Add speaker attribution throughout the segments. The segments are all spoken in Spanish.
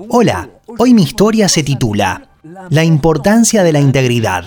Speaker 1: Hola, hoy mi historia se titula La importancia de la integridad.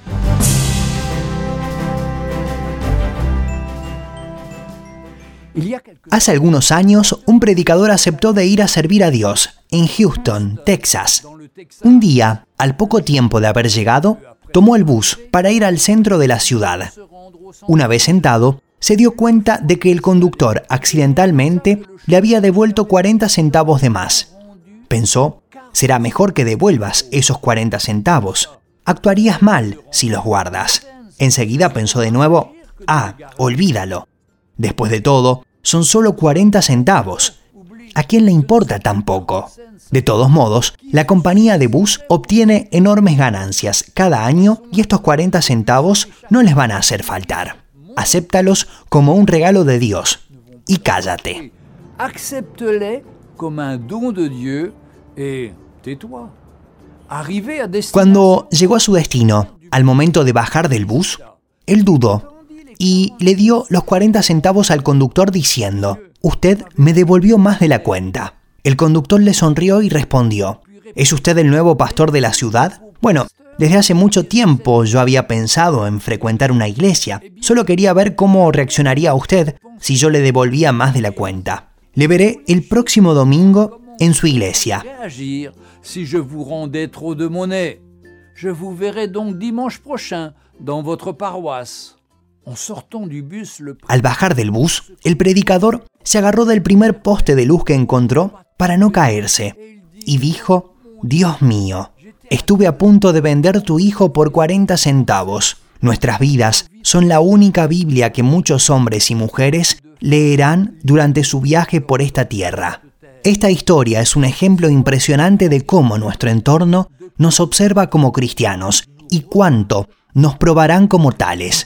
Speaker 1: Hace algunos años, un predicador aceptó de ir a servir a Dios en Houston, Texas. Un día, al poco tiempo de haber llegado, tomó el bus para ir al centro de la ciudad. Una vez sentado, se dio cuenta de que el conductor accidentalmente le había devuelto 40 centavos de más. Pensó, será mejor que devuelvas esos 40 centavos. Actuarías mal si los guardas. Enseguida pensó de nuevo, olvídalo. Después de todo, son solo 40 centavos. ¿A quién le importa tan poco? De todos modos, la compañía de bus obtiene enormes ganancias cada año y estos 40 centavos no les van a hacer faltar. Acéptalos como un regalo de Dios y cállate.
Speaker 2: Accepte-les comme un don de Dieu et tais-toi. Arrivé à destination.
Speaker 1: Cuando llegó a su destino, al momento de bajar del bus, él dudó y le dio los 40 centavos al conductor diciendo: «Usted me devolvió más de la cuenta». El conductor le sonrió y respondió: «¿Es usted el nuevo pastor de la ciudad? Bueno, desde hace mucho tiempo yo había pensado en frecuentar una iglesia. Solo quería ver cómo reaccionaría usted si yo le devolvía más de la cuenta. Le veré el próximo domingo en su iglesia».
Speaker 2: Réagir si je vous rendais trop de monnaie. Je vous verrai donc dimanche prochain dans votre paroisse. En sortant du bus,
Speaker 1: Al bajar del bus, el predicador se agarró del primer poste de luz que encontró para no caerse y dijo: «Dios mío, estuve a punto de vender tu hijo por 40 centavos. Nuestras vidas son la única Biblia que muchos hombres y mujeres leerán durante su viaje por esta tierra». Esta historia es un ejemplo impresionante de cómo nuestro entorno nos observa como cristianos y cuánto nos probarán como tales.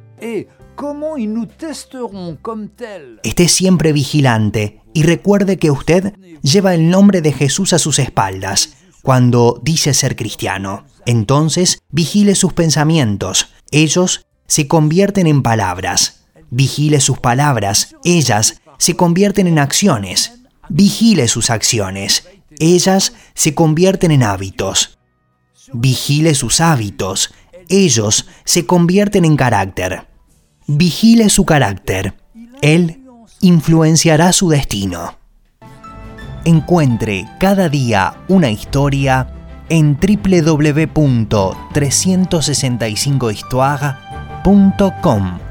Speaker 1: Esté siempre vigilante y recuerde que usted lleva el nombre de Jesús a sus espaldas cuando dice ser cristiano. Entonces, vigile sus pensamientos. Ellos se convierten en palabras. Vigile sus palabras. Ellas se convierten en acciones. Vigile sus acciones. Ellas se convierten en hábitos. Vigile sus hábitos. Ellos se convierten en carácter. Vigile su carácter. Él influenciará su destino. Encuentre cada día una historia en www.365histoire.com.